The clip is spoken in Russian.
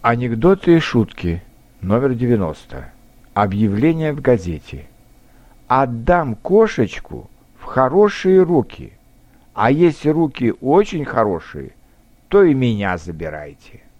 Анекдоты и шутки. Номер 90. Объявление в газете. Отдам кошечку в хорошие руки. А если руки очень хорошие, то и меня забирайте.